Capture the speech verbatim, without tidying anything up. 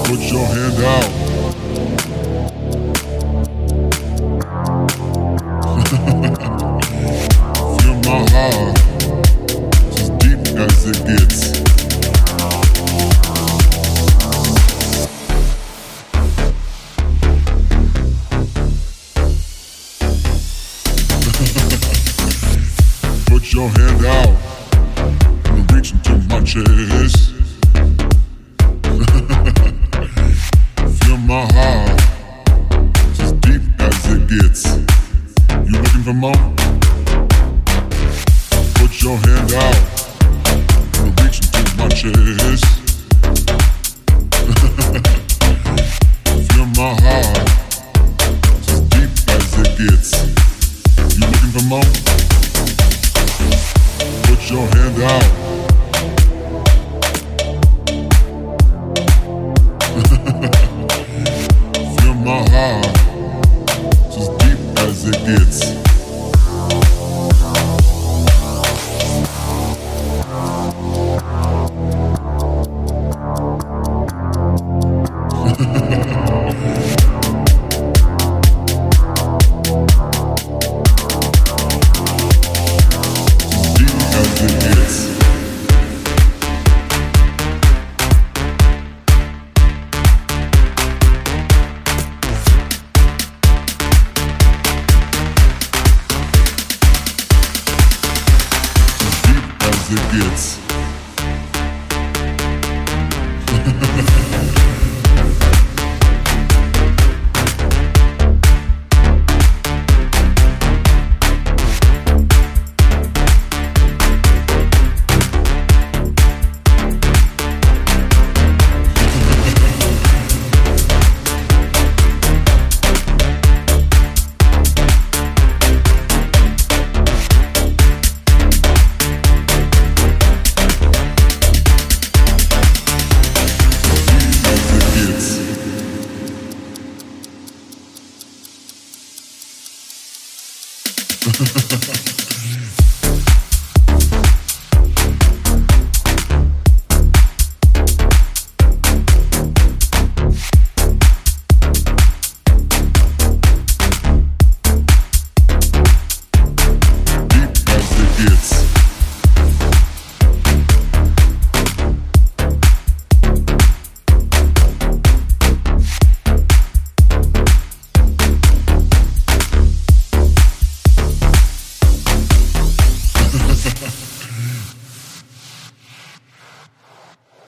Put your hand out. Feel my heart, it's as deep as it gets. Put your hand out and reach into my chest. Feel my heart, it's as deep as it gets. You looking for more? Put your hand out and reach into my chest. Feel my heart, it's as deep as it gets. You looking for more? Put your hand out. Feel my heart, it's as deep as it gets. Ha ha ha.